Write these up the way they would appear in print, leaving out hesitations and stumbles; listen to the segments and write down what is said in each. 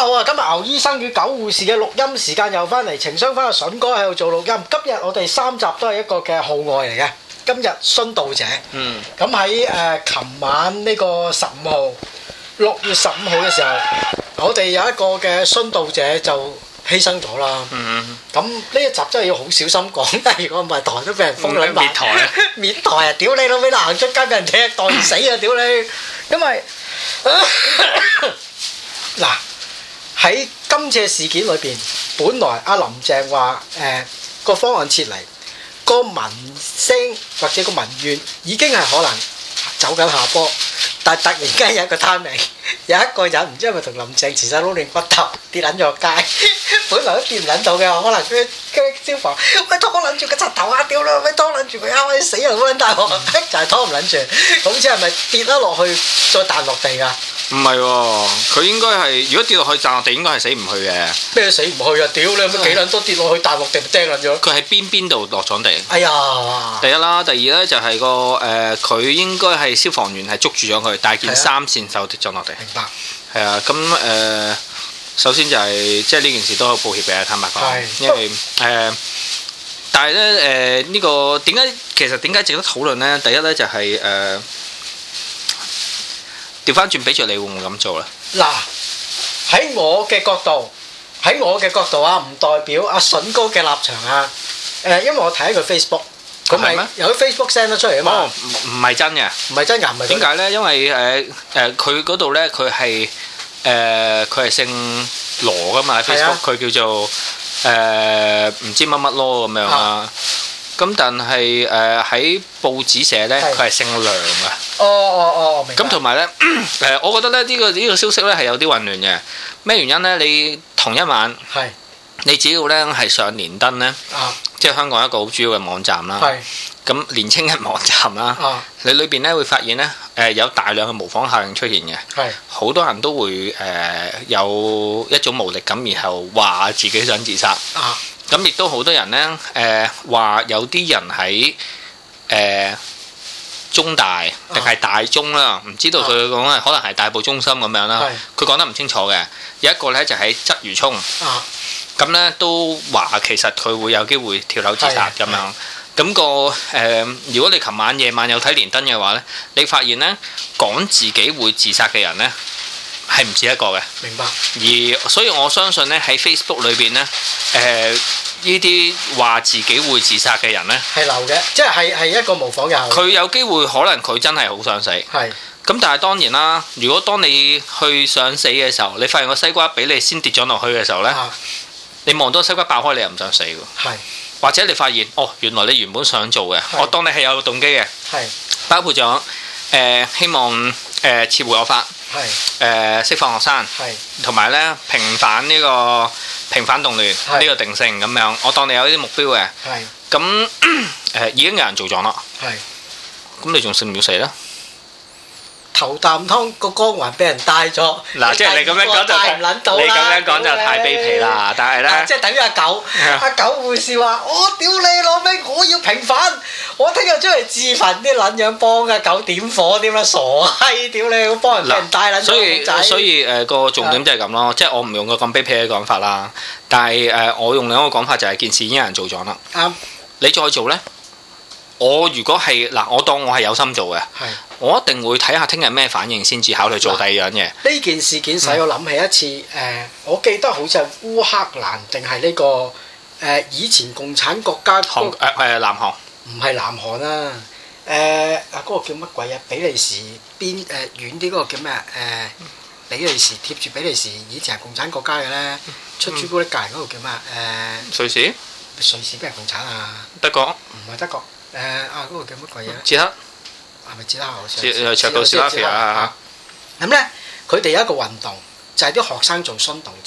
好啊！今日牛醫生與狗護士嘅錄音時間又翻嚟，情商翻阿筍哥喺度做錄音。今日我哋3集都係一個嘅號外嚟嘅。今日殉道者，咁喺琴晚呢個15號，6月15號嘅時候，我哋有一個嘅殉道者就犧牲咗啦。咁呢一集真係要好小心講，但係如果唔係台都俾人封撚埋。滅台啊！滅台啊！屌你老味啦，行出街俾人踢袋死啊！屌你！因為嗱。喺今次嘅事件裏邊，本來阿林鄭話個方案撤離，個民聲或者個民怨已經係可能走緊下坡，但係突然間有一個 timing，有一個人唔知係咪同林鄭前手撈亂骨頭跌撚咗落街，本來都跌唔撚到嘅，可能佢消防喂拖撚住個柒頭啊，屌啦，喂拖撚住佢啊，死人好撚大鑊，就係拖唔撚住，好似係咪跌咗落去再彈落地㗎？ 唔係喎，佢應該係如果跌落去彈落地，應該係死唔去嘅。咩死唔去啊？屌你有乜幾撚多跌落去彈落地咪釘撚咗？ 佢喺邊度落咗地？ 哎呀！ 第一啦，第二咧就係佢應該係消防員係捉住咗佢，但係件衫線就跌咗落地。明白。係啊，咁首先就係即係呢件事都好抱歉嘅，坦白講，因為但係咧呢個點解值得討論咧？第一咧就係調翻轉俾著你會唔會咁做咧？ 嗱，喺我嘅角度啊，唔代表阿筍哥嘅立場啊。因為我睇佢 Facebook， 佢咪有啲 Facebook send 得出嚟啊嘛。 哦，唔係真嘅。唔係真㗎，唔係。點解咧？因為佢嗰度咧，佢係姓羅㗎嘛。Facebook 佢叫做唔知乜乜咯咁樣啦。咁但係喺報紙寫咧，佢係姓梁啊。 哦，明白。 咁同埋咧，我覺得咧呢個消息咧係有啲混亂嘅。咩原因咧？你同一晚，你只要咧係上連登咧，即係香港一個好主要嘅網站啦。咁年青人網站啦，你裏邊咧會發現咧，有大量嘅模仿效應出現嘅。好多人都會有一種無力感，然後話自己想自殺。咁亦都好多人咧，話有啲人喺中大定係大中啦，唔知道佢講係可能係大埔中心咁樣啦。佢講得唔清楚嘅。有一個咧就喺鰂魚涌，咁咧都話其實佢會有機會跳樓自殺咁樣。咁如果你琴晚夜晚有睇連登嘅話咧，你發現咧講自己會自殺嘅人咧係唔止一個嘅。 明白。 而所以我相信咧喺 Facebook 裏邊咧，呢啲話自己會自殺嘅人咧係流嘅，即係一個模仿人。 佢有機會可能佢真係好想死。咁但係當然啦，如果當你去想死嘅時候，你發現個西瓜俾你先跌咗落去嘅時候咧，你望到西瓜爆開，你又唔想死喎。或者你發現原來你原本想做嘅，我當你係有動機嘅，包括咗希望撤回惡法，釋放學生，同埋咧平反動亂呢個定性咁樣，我當你有呢啲目標嘅，咁已經有人做咗啦，咁你仲信唔要死咧？ 頭啖湯個光環俾人帶咗， 嗱，即係你咁樣講就太卑鄙啦！但係咧， 即係等於阿狗護士話：我屌你老味，我要平反，我聽日出嚟自焚，啲撚樣幫阿狗點火點啦，傻閪！屌你，幫人俾人帶撚咗。 所以個重點就係咁咯，即係我唔用個咁卑鄙嘅講法啦，但係我用另一個講法就係件事已經有人做咗啦。啱，你再做咧？我如果係嗱，我當我係有心做嘅，我一定會睇下聽日咩反應先至考慮做第二樣嘢。 呢件事件使我諗起一次，我記得好似係烏克蘭定係呢個以前共產國家南韓， 唔係南韓啊，嗰個叫乜鬼啊？比利時邊遠啲嗰個叫咩啊？比利時貼住比利時，以前係共產國家嘅咧，出朱古力隔離嗰個叫咩啊？ 瑞士？ 瑞士邊係共產啊？ 德國？ 唔係德國。嗰個叫乜鬼嘢？ 捷克係咪捷克？ 捷克斯拉夫啊！ 咁咧，佢哋有一個運動，就係啲學生做殉道者。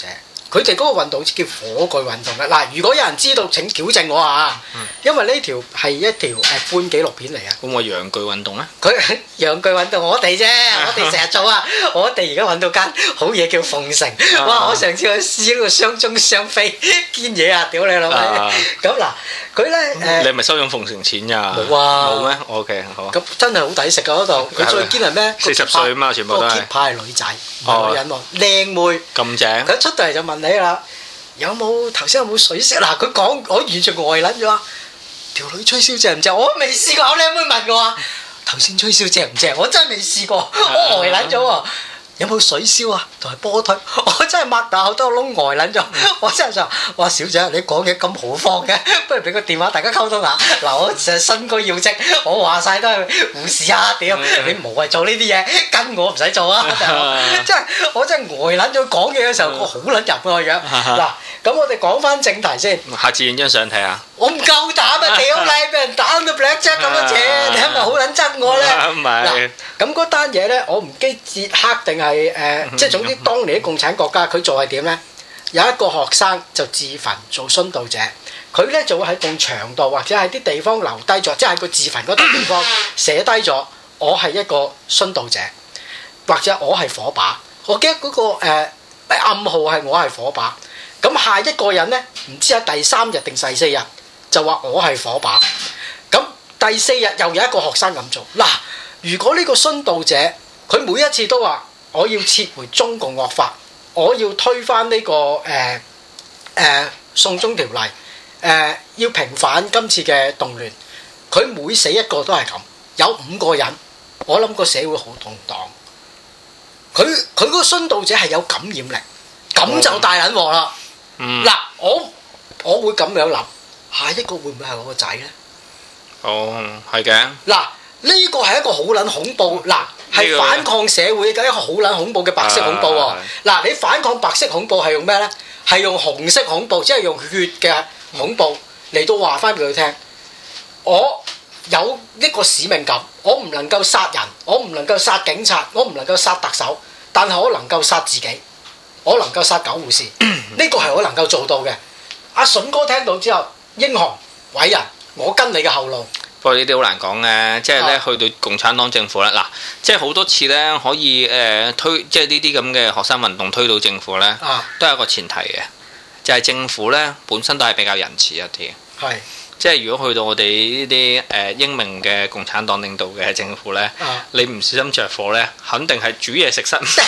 佢哋嗰個運動叫火炬運動嘅。嗱，如果有人知道請矯正我啊，因為呢條係一條半紀錄片嚟啊。 咁我陽具運動咧？ 佢陽具運動我哋啫，我哋成日做啊。我哋而家揾到間好嘢叫鳳城，哇！我上次去試呢個雙中雙飛堅嘢啊，屌你老味！咁嗱，佢咧你係咪收咗鳳城錢㗎？ 冇啊， 冇咩？OK 好啊。 咁真係好抵食㗎嗰度，佢最堅係咩 ？40歲啊嘛，全部都係。 個 keep 牌係女仔，唔係女人喎，靚妹。咁正。佢一出到嚟就問你啦，有冇頭先有冇水色？嗱，佢講我完全呆撚咗啊！條女吹簫正唔正？我未試過，我靚妹問我啊，頭先吹簫正唔正？我真係未試過，我呆撚咗喎。有冇水簫啊？同埋波推，我真係擘大好多窿呆撚咗。我真係就話小姐，你講嘢咁豪放嘅，不如俾個電話大家溝通下。嗱，我成日身居要職，我話晒都係護士啊！屌，你無謂做呢啲嘢，跟我唔使做啊！真係我真係呆撚咗講嘢嘅時候，我好撚入個樣。嗱，咁我哋講翻正題先。 下次影張相睇下。 我唔夠膽啊！屌你，俾人打到 black jack 咁嘅嘢，你係咪好撚憎我咧？ 唔係。嗱， 咁嗰單嘢咧，我唔記捷克定係即係總之當年啲共產國家，佢做係點咧？有一個學生就自焚做殉道者，佢咧就會喺埲牆度或者喺啲地方留低咗，即係喺個自焚嗰笪地方寫低咗，我係一個殉道者，或者我係火把。我記得嗰個暗號係我係火把。咁下一個人咧，唔知喺第3日定第4日。就話我係火把，咁第4日又有一個學生咁做。嗱，如果呢個殉道者佢每一次都話我要撤回中共惡法，我要推翻呢個送中條例，要平反今次嘅動亂，佢每死一個都係咁，有5個人，我諗個社會好動盪。佢嗰個殉道者係有感染力，咁就大撚鑊啦。嗱，我會咁樣諗。下一個會唔會係我個仔咧？ 哦，係嘅。 嗱，呢個係一個好撚恐怖，嗱係反抗社會嘅一個好撚恐怖嘅白色恐怖喎。嗱，你反抗白色恐怖係用咩咧？係用紅色恐怖，即係用血嘅恐怖嚟到話翻俾佢聽。我有一個使命感，我唔能夠殺人，我唔能夠殺警察，我唔能夠殺特首，但係我能夠殺自己，我能夠殺狗護士，呢個係我能夠做到嘅。阿筍哥聽到之後。英雄偉人，我跟你嘅後路。 不過呢啲好難講嘅，即係咧去到共產黨政府咧，嗱，即係好多次咧可以推，即係呢啲咁嘅學生運動推到政府咧，都係一個前提嘅，就係政府咧本身都係比較仁慈一啲。係，即係如果去到我哋呢啲英明嘅共產黨領導嘅政府咧，你唔小心着火咧，肯定係煮嘢食失誤。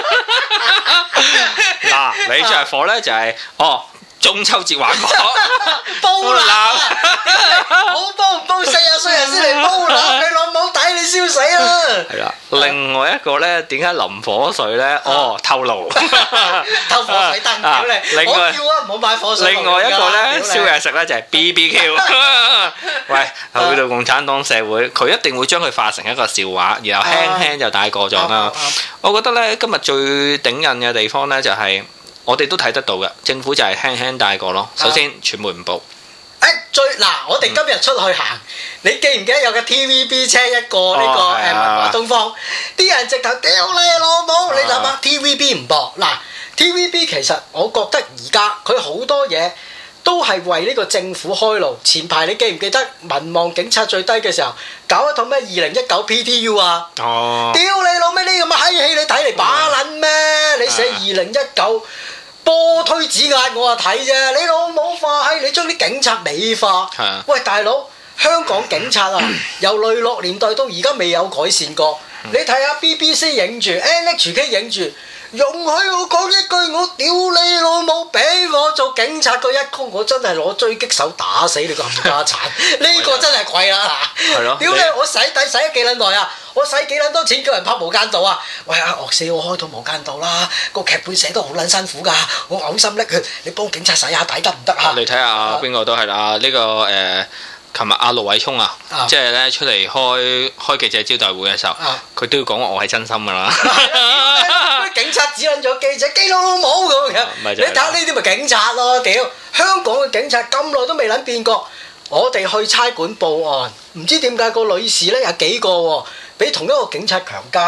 嗱，你着火咧就係中秋節玩火， 煲蠟，好煲唔煲40歲人先嚟煲蠟，你老母抵你燒死啦！ 係啦，另外一個咧，點解淋火水咧？透露， 偷火水燈屌你！我叫啊，唔好買火水。 另外一個咧，燒嘢食咧就係 BBQ。喂，去到共產黨社會，佢一定會將佢化成一個笑話，然後輕輕就帶過咗啦。我覺得咧，今日最頂癮嘅地方咧就係。我哋都睇得到嘅，政府就係輕輕帶過咯。首先，傳媒唔報。 我哋今日出去行，你記唔記得有個 TVB 車一個呢個文華東方？啲人直頭屌你老母！你諗下 TVB 唔播嗱 TVB 其實我覺得而家佢好多嘢都係為呢個政府開路。前排你記唔記得民望警察最低嘅時候，搞一套咩2019 PTU 啊？屌你老味！呢咁嘅閪戲你睇嚟把撚咩？你寫2019。波推指壓我睇啫，你老母化閪！你將啲警察美化，喂大佬，香港警察啊，由雷洛年代到而家未有改善過。你睇下 BBC 影住 NHK 影住，容許我講一句，我屌你老母，俾我做警察嗰一曲，我真係攞狙擊手打死你個冚家鏟！呢個真係貴啦嗱！屌你，我洗底洗咗幾撚耐啊！我使幾撚多錢叫人拍無間道啊！喂阿岳四，我開套無間道啦，個劇本寫得好撚辛苦㗎，我嘔心瀝血，你幫警察洗下底得唔得啊？你睇下邊個都係啦，呢個琴日阿盧偉聰啊，即係咧出嚟開記者招待會嘅時候，佢都要講我係真心㗎啦。警察指撚咗記者基佬老母咁樣，你睇下呢啲咪警察咯？屌，香港嘅警察咁耐都未撚變過。我哋去差館報案，唔知點解個女士咧有幾個喎，俾同一個警察強姦。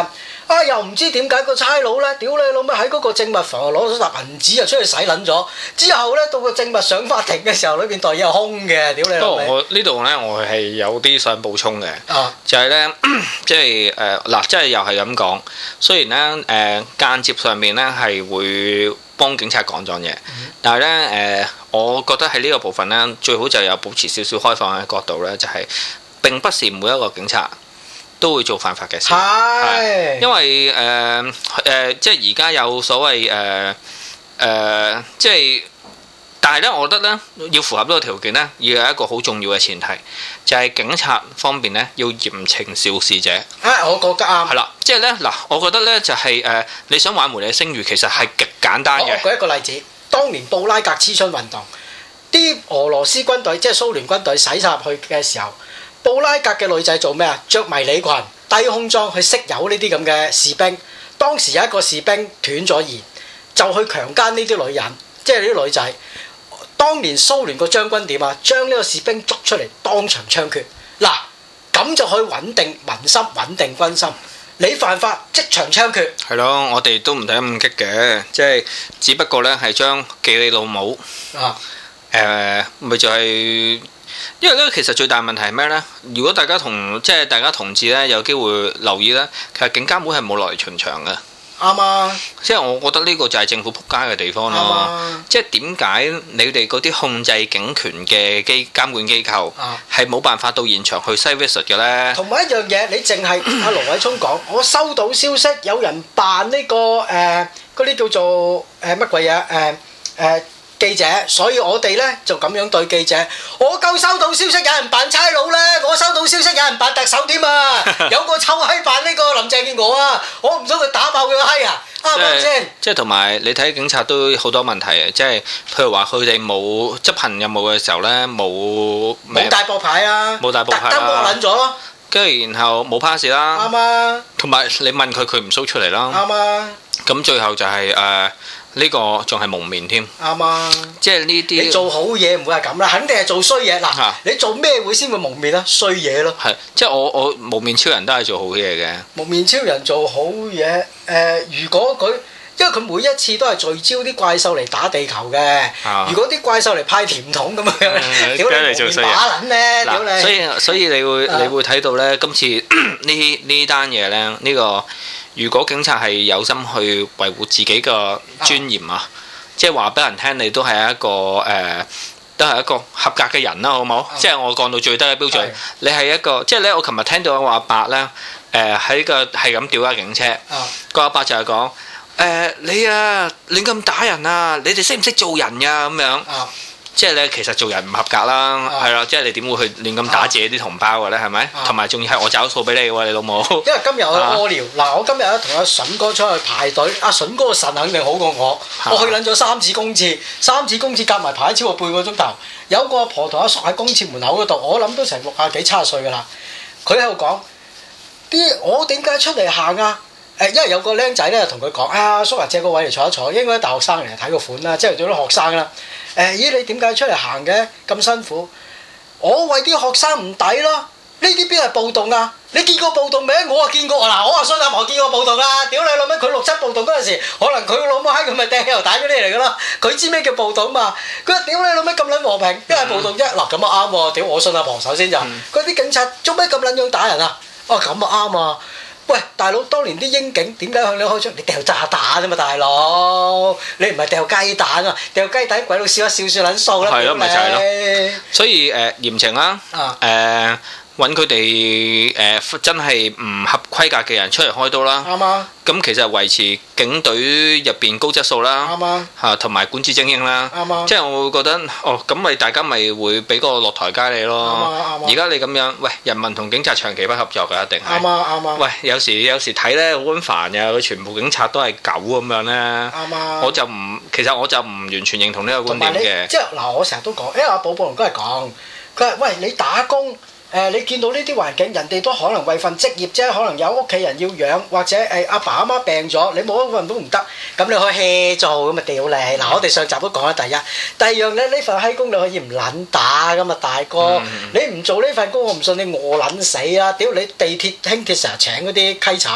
又唔知點解個差佬咧，屌你老味喺嗰個證物房攞咗沓銀紙就出去洗撚咗，之後咧到個證物上法庭嘅時候，裏邊袋嘢係空嘅，屌你老味。不過我呢度咧，我係有啲想補充嘅，就係咧，即係嗱，即係又係咁講，雖然咧間接上面咧係會幫警察講咗嘢，但係咧我覺得喺呢個部分咧，最好就有保持少少開放嘅角度咧，就係並不是每一個警察都會做犯法嘅事，係因為即係而家有所謂即係，但係咧，我覺得咧要符合呢個條件咧，要有一個好重要嘅前提，就係警察方面咧要嚴懲肇事者。 我覺得啱。係啦，即係咧嗱，我覺得咧就係你想挽回你嘅聲譽，其實係極簡單嘅。 我舉一個例子，當年布拉格黐春運動，啲俄羅斯軍隊即係蘇聯軍隊洗晒入去嘅時候，布拉格嘅女仔做咩啊？着迷你裙、低胸裝去色誘呢啲咁嘅士兵。當時有一個士兵斷咗言，就去強姦呢啲女人，即係呢啲女仔。當年蘇聯個將軍點啊？將呢個士兵捉出嚟當場槍決。嗱，咁就可以穩定民心、穩定軍心。你犯法即場槍決。 係咯，我哋都唔睇咁激嘅，即係只不過咧係將記你老母。咪就係。因為咧，其實最大問題係咩咧？如果大家同志咧有機會留意咧，其實警監會係冇落嚟巡場嘅。 啱啊！ 即係我覺得呢個就係政府仆街嘅地方咯。即係點解你哋嗰啲控制警權嘅監管機構係冇辦法到現場去 site visit 嘅咧？ 同埋一樣嘢，你淨係阿盧偉聰講，我收到消息有人扮呢個嗰啲叫做乜鬼嘢記者，所以我哋咧就咁樣對記者。我夠收到消息有人扮差佬咧，我收到消息有人扮特首添啊！有個臭閪扮呢個林鄭月娥啊！我唔想佢打爆佢個閪啊！啱唔啱先？ 即係同埋你睇警察都好多問題嘅，即係譬如話佢哋冇執行任務嘅時候咧，冇大駁牌啊， 冇大駁牌啦，特登駁撚咗咯。 跟住然後冇 pass 啦， 啱啊！ 同埋你問佢，佢唔 show 出嚟啦， 啱啊！ 咁最後就係呢個仲係蒙面添， 啱啊！ 即係呢啲你做好嘢唔會係咁啦，肯定係做衰嘢嗱。你做咩會先會蒙面啊？衰嘢咯。係， 即係我蒙面超人都係做好嘢嘅。 蒙面超人做好嘢，如果佢，因為佢每一次都係聚焦啲怪獸嚟打地球嘅。如果啲怪獸嚟派甜筒咁樣，屌你蒙面打撚咧，屌你！ 所以你會睇到咧，今次呢單嘢咧，呢個。如果警察係有心去維護自己個尊嚴啊，即係話俾人聽，你都係一個都係一個合格嘅人啦，好冇？即係我降到最低嘅標準，你係一個，即係咧，我琴日聽到個阿伯咧，喺個係咁屌架警車，個阿伯就係講你啊亂咁打人啊，你哋識唔識做人呀咁樣？即係咧，其實做人唔合格啦，係啦，即係你點會去亂咁打自己啲同胞嘅咧？係咪？同埋仲要係我找數俾你喎，你老母！ 因為今日我屙尿，嗱，我今日咧同阿筍哥出去排隊，阿筍哥個腎肯定好過我，我去撚咗3次公廁夾埋排超過半個鐘頭。有個阿婆同阿叔喺公廁門口嗰度，我諗都成60幾70歲㗎啦。佢喺度講我點解出嚟行啊？因為有個僆仔咧同佢講阿叔借個位嚟坐一坐，應該大學生嚟睇個款啦，即係做啲學生啦。咦，你點解出嚟行嘅咁辛苦？我為啲學生唔抵咯。呢啲邊係暴動啊？你見過暴動未？我啊見過嗱，我啊信阿婆見過暴動啊！屌你老味，佢6、7暴動嗰陣時，可能佢老母閪佢咪掟汽油彈嗰啲嚟㗎啦。佢知咩叫暴動嘛？佢話屌你老味咁撚和平，邊係暴動啫？嗱咁啊啱喎！屌我信阿婆首先就，嗰啲警察做咩咁撚樣打人啊？咁啊啱啊！喂，大佬，當年啲英警點解向你開槍？你掉炸彈啫嘛，大佬！你唔係掉雞蛋啊？掉雞蛋鬼佬笑一笑算撚數啦， 係咯，咪就係咯。所以嚴懲啦，揾佢哋真係唔合規格嘅人出嚟開刀啦。啱啊！咁其實維持警隊入邊高質素啦。啱啊！嚇，同埋管治精英啦。啱啊！即係我會覺得，咁咪大家咪會俾個落台階你咯。啱啊！啱啊！而家你咁樣，喂，人民同警察長期不合作㗎，一定係。啱啊！啱啊！喂，有時睇咧好撚煩㗎，佢全部警察都係狗咁樣咧。啱啊！其實我就唔完全認同呢個觀點嘅。即係嗱，我成日都講，因為阿寶寶龍都係講，佢話喂，你打工。你見到呢啲環境，人哋都可能為份職業啫，可能有屋企人要養，或者阿爸阿媽病咗，你冇一份都唔得，咁你可以 hea 做，咁咪屌你！嗱，我哋上集都講啦，第二樣咧，呢份閪工你可以唔撚打噶嘛，大哥，你唔做呢份工，我唔信你餓撚死啦！屌你地鐵輕鐵成日請嗰啲稽查，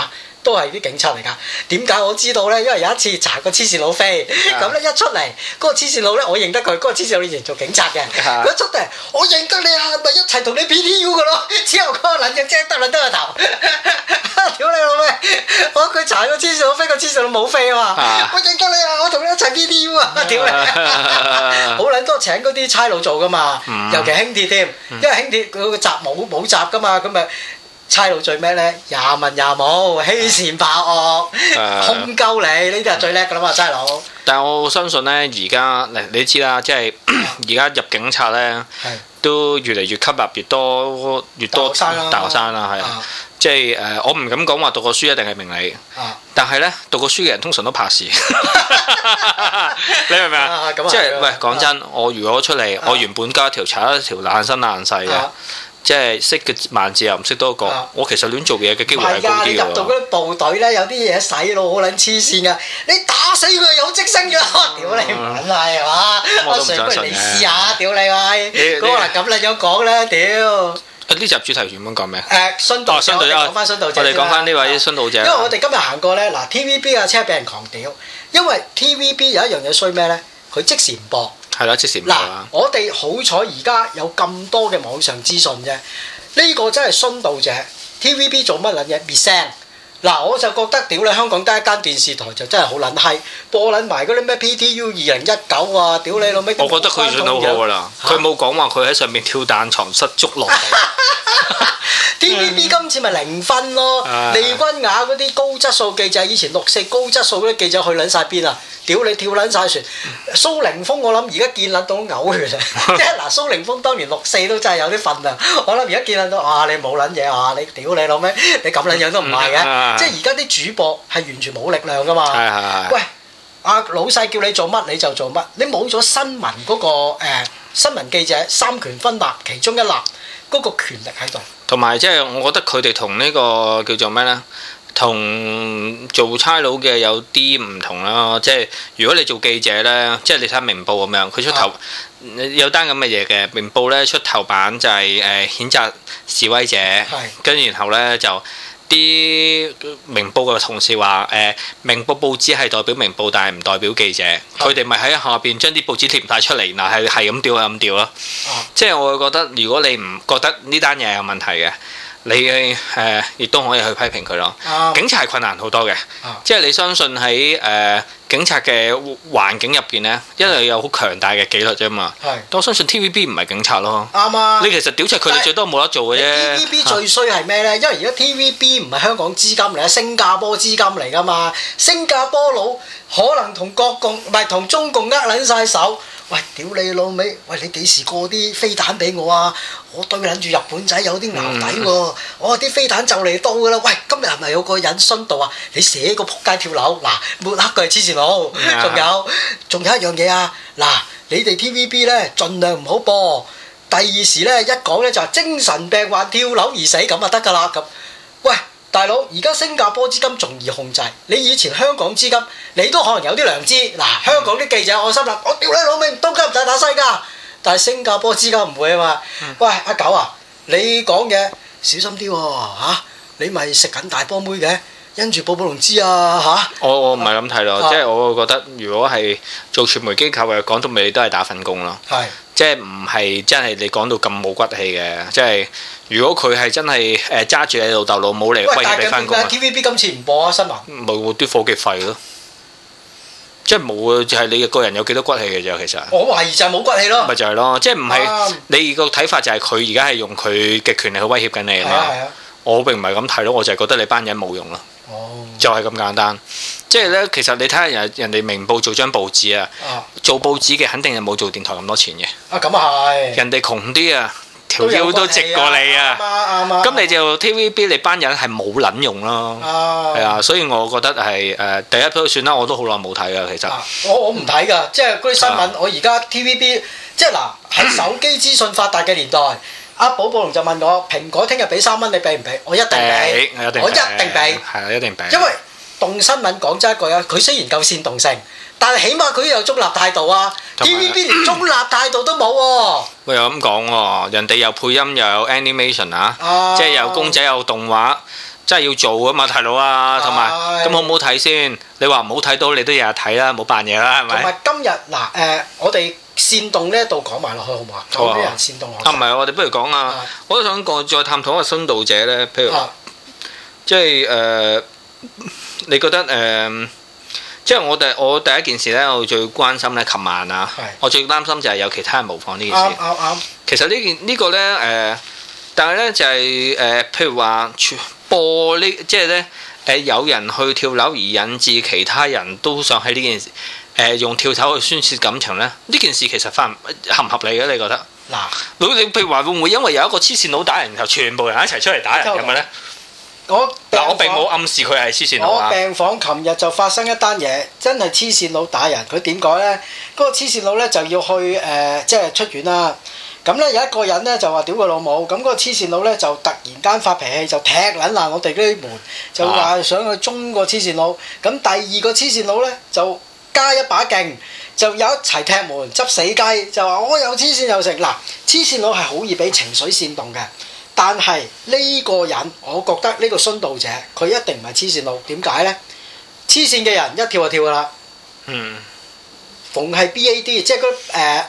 都係啲警察嚟㗎。點解我知道咧？因為有一次查個黐線佬飛，咁咧一出嚟，嗰個黐線佬咧，我認得佢，嗰個黐線佬以前做警察嘅。佢一出嚟，我認得你啊，咪一齊同你 PTU 㗎咯。之後嗰個撚樣即係得個頭，屌你老味！佢查個黐線佬飛，個黐線佬冇飛啊嘛。我認得你啊，我同你一齊 PTU 啊，屌你！好撚多請嗰啲差佬做㗎嘛，尤其輕鐵添，因為輕鐵佢個閘冇閘㗎嘛，咁咪。差佬最咩咧？廿問廿冇，欺善怕惡，控鳩你，呢啲係最叻噶啦嘛，差佬。 但係我相信咧，而家你知啦，即係而家入警察咧，都越嚟越吸納越多大學生啦，係啊，即係我唔敢講話讀過書一定係明理，但係咧讀過書嘅人通常都怕事，你明唔明啊？即係喂，講真，我如果出嚟，我原本加一條踩一條爛身爛世嘅。即係識嘅萬字又唔識多個，我其實亂做嘢嘅機會係高啲㗎。你入到嗰啲部隊咧，有啲嘢洗腦好撚黐線㗎，你打死佢有職升㗎，屌你唔撚係係嘛？我上不如你試下，屌你喂！嗰個嗱咁樣講咧，屌！ 呢集主題原本講咩？ 殉道者，講翻殉道者。 我哋講翻呢位殉道者。 因為我哋今日行過咧，嗱 TVB 嘅車俾人狂屌，因為 TVB 有一樣嘢衰咩咧？佢即時唔播。 係啦，即時唔播啦。 我哋好彩而家有咁多嘅網上資訊啫，呢個真係殉道者。TVB 做乜撚嘢滅聲？嗱，我就覺得屌你香港得一間電視台就真係好撚閪，播撚埋嗰啲咩 PTU 2019啊，屌你老味！ 我覺得佢算好好噶啦，佢冇講話佢喺上面跳彈床失足落地。 TVB 今次咪0分咯，利君雅嗰啲高質素記者，以前6/4高質素嗰啲記者去撚晒邊啊？屌你跳撚晒船，蘇凌峰我諗而家見撚到嘔血啊！即係嗱，蘇凌峰當年6/4都真係有啲份啊！我諗而家見撚到啊，你冇撚嘢啊！你屌你老味，你咁撚樣都唔係嘅，即係而家啲主播係完全冇力量噶嘛！喂，阿老細叫你做乜你就做乜，你冇咗新聞嗰個新聞記者三權分立其中一立嗰個權力喺度。 同埋即係我覺得佢哋同呢個叫做咩呢？同做差佬嘅有啲唔同啦。即係如果你做記者呢，即係你睇明報咁樣，佢出頭有單咁嘅嘢嘅。明報呢出頭版就係譴責示威者，跟住然後呢就啲明報嘅同事話明報報紙係代表明報，但係唔代表記者。佢哋咪喺下邊將啲報紙貼唔晒出嚟，嗱係咁調係咁調咯。即係我會覺得，如果你唔覺得呢單嘢有問題嘅，你亦都可以去批評佢咯。警察係困難好多嘅，即係你相信喺警察嘅環境入邊呢，因為有好強大嘅紀律啫嘛。但我相信 TVB 唔係警察咯。啱啊！你其實屌柒佢哋最多冇得做嘅啫。 TVB 最衰係咩呢？因為而家 TVB 唔係香港資金嚟，係新加坡資金嚟㗎嘛。新加坡佬可能同國共唔係同中共撚晒手。喂，屌你老味！喂，你幾時過啲飛彈俾我啊？我對撚住日本仔有啲淆底喎。我啲飛彈就嚟到㗎啦！喂，今日係咪有個人殉道啊？你寫個撲街跳樓嗱，抹黑佢係黐線佬。仲有一樣嘢啊！嗱，你哋 TVB 咧盡量唔好播。第二時咧一講咧就係精神病患跳樓而死咁就得㗎啦咁。喂！大佬，而家新加坡資金仲易控制，你以前香港資金，你都可能有啲良知。嗱，香港啲記者我心諗，我屌你老味，都急唔使打西㗎。但係新加坡資金唔會啊嘛。喂，阿九啊，你講嘢小心啲喎嚇，你咪食緊大波妹嘅，因住寶寶龍知啊嚇。我唔係咁睇咯，即係我會覺得，如果係做傳媒機構嘅，講到尾都係打份工咯。係。即係唔係真係你講到咁冇骨氣嘅，即係如果佢係真係揸住你老豆老母嚟威脅你翻工啊 ！TVB 今次唔播啊新聞， 冇啲伙計費咯，即係冇啊！就係你個人有幾多骨氣嘅啫，其實。我懷疑就係冇骨氣咯。 咪就係咯，即係唔係你個睇法就係佢而家係用佢嘅權力去威脅緊你啊嘛？我並唔係咁睇咯，我就係覺得你班人冇用咯。就係咁簡單，即係咧，其實你睇下人哋明報做張報紙啊，做報紙嘅肯定係冇做電台咁多錢嘅。 咁啊係。人哋窮啲啊，條腰都直過你啊。啱。咁你就 TVB 你班人係冇撚用咯。係啊，所以我覺得係第一都算啦，我都好耐冇睇噶其實。 我唔睇㗎，即係嗰啲新聞，我而家 TVB 即係嗱喺手機資訊發達嘅年代。阿寶寶龍就問我：蘋果聽日俾3蚊，你俾唔俾？我一定俾，我一定俾。係啊， 一定俾。 因為動新聞講真一句啊，佢雖然夠煽動性，但係起碼佢有中立態度啊。TVB 連中立態度都冇喎。 喂，又咁講喎，人哋又配音又有 animation 啊，即係有公仔有動畫。 真係要做㗎嘛，大佬啊，同埋咁好唔好睇先？你話唔好睇到，你都日日睇啦，冇扮嘢啦，係咪？ 同埋今日嗱我哋煽動呢一度講埋落去好唔好啊？有啲人煽動我。唔係， 我哋不如講啊！我都想再探討下殉道者咧，譬如即係你覺得即係我第一件事咧，我最關心咧，琴晚啊，我最擔心就係有其他人模仿呢件事。啱。其實呢個咧但係咧就係譬如話播呢，即係咧有人去跳樓而引致其他人都想喺呢件事用跳樓去宣泄感情咧，呢件事其實合唔合理嘅？你覺得？嗱，你譬如話會唔會因為有一個黐線佬打人，然後全部人一齊出嚟打人咁嘅咧？我並冇暗示佢係黐線佬啊！ 我病房琴日就發生一單嘢，真係黐線佬打人。佢點解咧？嗰個黐線佬咧就要去即係出院啦。咁咧有一個人咧就話屌佢老母，咁嗰個黐線佬咧就突然間發脾氣，就踢撚爛我哋嗰啲門，就話想去中個黐線佬。咁第二個黐線佬咧就加一把勁，就有一齊踢門執死雞，就話我又黐線又成。嗱，黐線佬係好易俾情緒煽動嘅，但係呢個人我覺得呢個殉道者佢一定唔係黐線佬。點解咧？黐線嘅人一跳就跳㗎啦。逢係 BAD， 即係嗰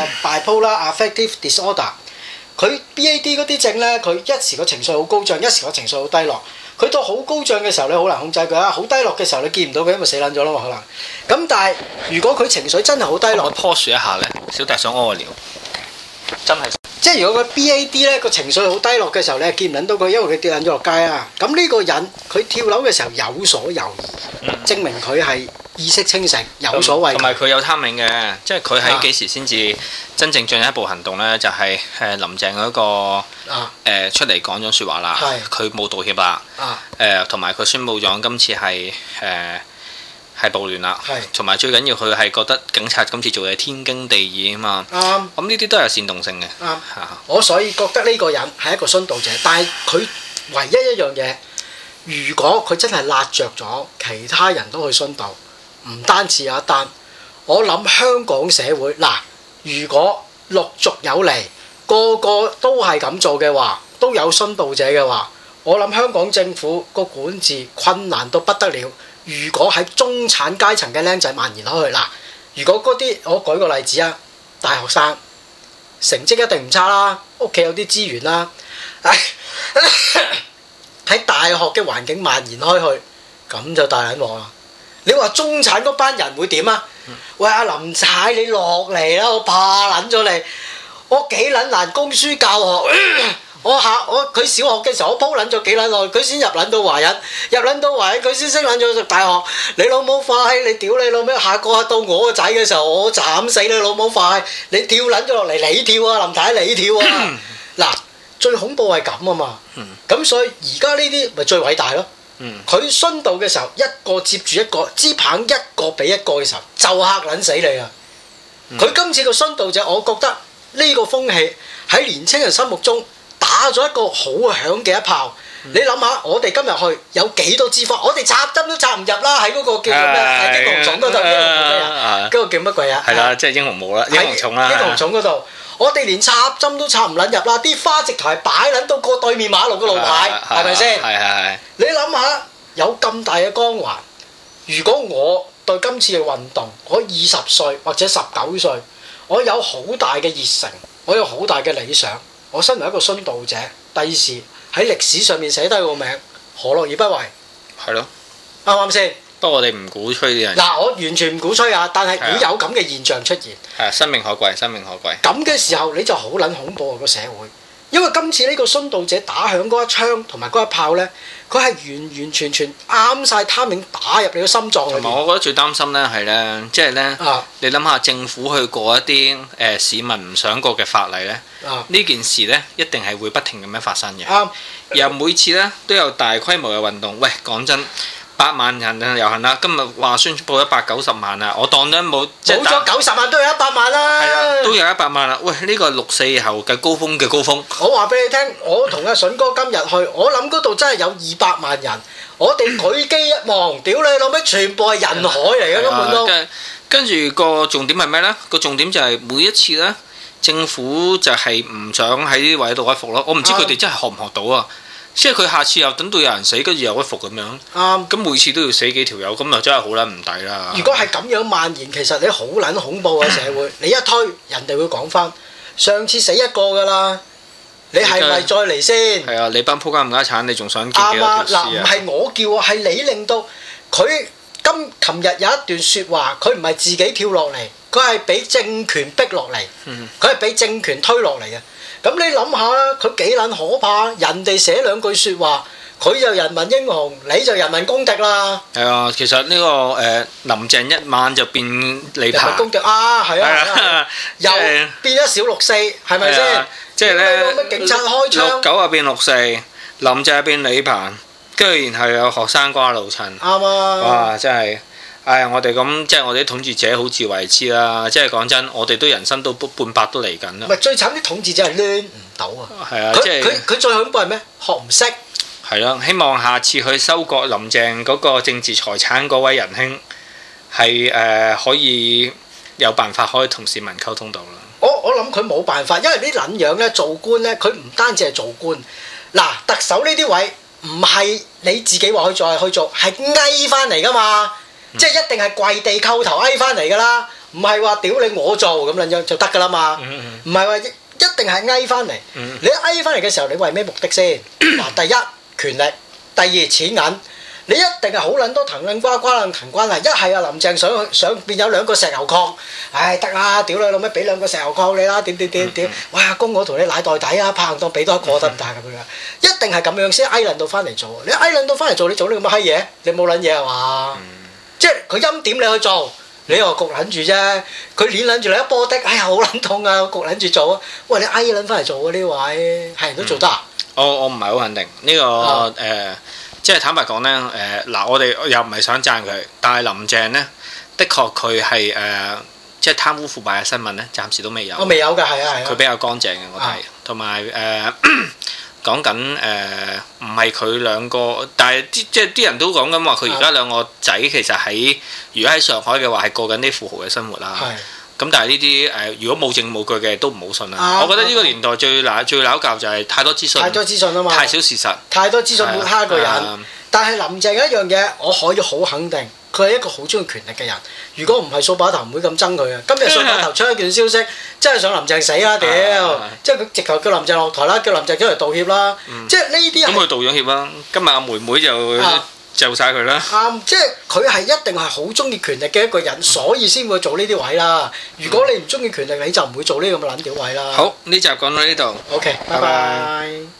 bipolar affective disorder， 佢 BAD 嗰啲症咧，佢一時個情緒好高漲，一時個情緒好低落。佢到好高漲嘅時候，你好難控制佢啊；好低落嘅時候，你見唔到佢，因為死撚咗啦嘛，可能。咁但係如果佢情緒真係好低落， 我 pause 一下咧，小弟想屙個尿，真係。 即係如果佢 BAD 咧個情緒好低落嘅時候，你係見唔撚到佢，因為佢跌撚咗落街啊。咁呢個人佢跳樓嘅時候有所猶豫，證明佢係意識清醒，有所畏懼。同埋佢有 timing嘅，即係佢喺幾時先至真正進一步行動咧？就係林鄭嗰個出嚟講咗説話啦，佢冇道歉啦，同埋佢宣佈咗今次係暴亂啦，同埋最緊要佢係覺得警察今次做嘢天經地義啊嘛。咁呢啲都係煽動性嘅。 我所以覺得呢個人係一個殉道者，但係佢唯一一樣嘢，如果佢真係辣着咗，其他人都去殉道，唔單止有一單。我諗香港社會嗱，如果陸續有嚟，個個都係咁做嘅話，都有殉道者嘅話，我諗香港政府個管治困難到不得了。如果喺中產階層嘅僆仔蔓延開去嗱，如果嗰啲我舉個例子啊，大學生成績一定唔差啦，屋企有啲資源啦，喺大學嘅環境蔓延開去，咁就大撚鑊啦。你話中產嗰班人會點啊？喂，阿林太你落嚟啦，我怕撚咗你，我幾撚難供書教學。佢小學嘅時候，我鋪撚咗幾撚耐，佢先入撚到華人，佢先升撚咗讀大學。你老母快，你屌你老味，下個到我個仔嘅時候，我斬死你老母快！你跳撚咗落嚟，你跳啊，林太你跳啊！嗱，最恐怖係咁啊嘛。咁所以而家呢啲咪最偉大咯。佢殉道嘅時候，一個接住一個，支棒一個比一個嘅時候，就嚇撚死你啊！佢今次個殉道者，我覺得呢個風氣喺年青人心目中打咗一個好響嘅一炮。你諗下，我哋今日去有幾多支花？我哋插針都插唔入啦！喺嗰個叫做咩？英雄冢嗰度，嗰個叫乜鬼啊？ 係啦，即係英雄帽啦，英雄冢啦。 英雄冢嗰度，我哋連插針都插唔撚入啦！啲花直頭係擺撚到過對面馬路嘅路牌，係咪先？係。你諗下，有咁大嘅光環，如果我對今次嘅運動，我20歲或者19歲，我有好大嘅熱誠，我有好大嘅理想，我身為一個殉道者，第時喺歷史上面寫低個名，何樂而不為？係咯，啱唔啱先？ 不過我哋唔鼓吹啲人。 嗱，我完全唔鼓吹啊，但係會有咁嘅現象出現。 係，生命可貴，生命可貴。 咁嘅時候你就好撚恐怖啊！個社會，因為今次呢個殉道者打響嗰一槍同埋嗰一炮呢，佢係完完全全啱晒 timing 打入你個心臟裏邊。同埋我覺得最擔心呢係呢，即係呢，你諗下政府去過一啲市民唔想過嘅法例呢，呢件事呢一定係會不停咁樣發生嘅。又每次呢都有大規模嘅運動。喂，講真，8萬人遊行啦，今日話宣佈190萬啊，我當咗冇咗 90萬都有100萬啦。 係啊，都有100萬啦。喂，呢個係6、4後嘅高峰嘅高峰。 我話俾你聽，我同阿筍哥今日去，我諗嗰度真係有200萬人。我哋舉機一望，屌你老味，全部係人海嚟嘅根本都。 跟住個重點係咩呢？個重點就係每一次呢，政府就係唔想喺呢啲位度屈服咯。我唔知佢哋真係學唔學到啊。 即係佢下次又等到有人死，跟住又屈服咁樣。啱。咁每次都要死幾條友，咁又真係好撚唔抵啦。如果係咁樣蔓延，其實你好撚恐怖嘅社會。你一推，人哋會講翻上次死一個㗎啦。你係咪再嚟先？ 係啊！你班仆街冚家鏟，你仲想見幾多條屍啊？ 嗱，唔係我叫啊，係你令到佢琴日有一段説話，佢唔係自己跳落嚟，佢係俾政權逼落嚟，佢係俾政權推落嚟嘅。咁你諗下啦，佢幾撚可怕？人哋寫兩句説話，佢就人民英雄，你就人民公敵啦。 係啊，其實呢個林鄭一晚就變李鵬。人民公敵啊，係啊，又變咗小六四，係咪先？ 即係咧， 警察開槍 69啊變64，林鄭變李鵬，跟住然後有學生瓜老襯。啱啊！哇，真係，我哋咁即係我哋啲統治者好自為之啦。即係講真，我哋都人生都半百都嚟緊啦。 唔係最慘啲統治者係攣唔到啊！ 係啊，即係佢最恐怖係咩？學唔識。 係咯，希望下次去收割林鄭嗰個政治財產嗰位仁兄係可以有辦法可以同市民溝通到啦。 我諗佢冇辦法，因為啲撚樣咧做官咧，佢唔單止係做官。嗱，特首呢啲位唔係你自己話去做係去做，係翳翻嚟噶嘛，即係一定係跪地叩頭翳翻嚟噶啦，唔係話屌你我做咁撚樣就得噶啦嘛，唔係話一定係翳翻嚟。你翳翻嚟嘅時候，你為咩目的先？嗱，第一權力，第二錢銀。你一定係好撚多藤撚瓜瓜撚藤關係，一係啊林鄭想變有兩個石油礦，唉得啦，屌你老味俾兩個石油礦你啦，點，哇公我同你奶袋底啊，拍硬檔俾多一個得唔得咁樣？一定係咁樣先翳撚到翻嚟做，你翳撚到翻嚟做，你做呢咁嘅閪嘢，你冇撚嘢係嘛？即係佢陰點你去做，你又焗撚住啫，佢攣撚住你一波的，哎呀好撚痛啊，焗撚住做啊，喂你翳撚翻嚟做啊呢位，係人都做得啊？ 我唔係好肯定呢個即係坦白講呢，嗱我哋又唔係想讚佢，但係林鄭呢，的確佢係即係貪污腐敗嘅新聞呢，暫時都未有。 我未有㗎，係啊。 佢比較乾淨嘅我睇，同埋講緊唔係佢兩個，但係即係啲人都講緊話，佢而家兩個仔其實如果喺上海嘅話係過緊啲富豪嘅生活啦。咁但係呢啲如果冇證冇據嘅都唔好信啦。我覺得呢個年代最撈教就係太多資訊，啊嘛，太少事實， 太多資訊抹黑一個人。但係林鄭有一樣嘢，我可以好肯定，佢係一個好中意權力嘅人。如果唔係掃把頭，唔會咁憎佢啊。今日掃把頭出一件消息，真係想林鄭死啦屌！即係佢直頭叫林鄭落台啦，叫林鄭出嚟道歉啦。即係呢啲咁佢道咗歉啦。今日阿妹妹就晒佢啦。 即係佢係一定係好中意權力嘅一個人，所以先會做呢啲位啦。如果你唔中意權力，你就唔會做呢咁嘅撚屌位啦。 好，呢集講到呢度。 OK，拜拜。